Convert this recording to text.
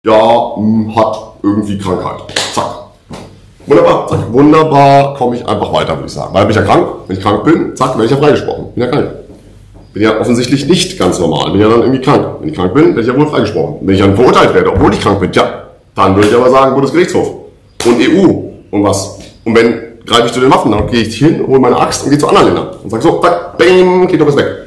ja, hat irgendwie Krankheit. Zack. Wunderbar, zack. Wunderbar, komme ich einfach weiter, würde ich sagen. Weil bin ich ja krank, wenn ich krank bin, zack, werde ich ja freigesprochen. Bin ja krank. Bin ja offensichtlich nicht ganz normal, bin ja dann irgendwie krank. Wenn ich krank bin, werde ich ja wohl freigesprochen. Wenn ich dann verurteilt werde, obwohl ich krank bin, ja, dann würde ich aber sagen, Bundesgerichtshof und EU und was. Und wenn greife ich zu den Waffen, dann gehe ich hin, hole meine Axt und gehe zu anderen Ländern und sage so, zack, bang, geht doch was weg.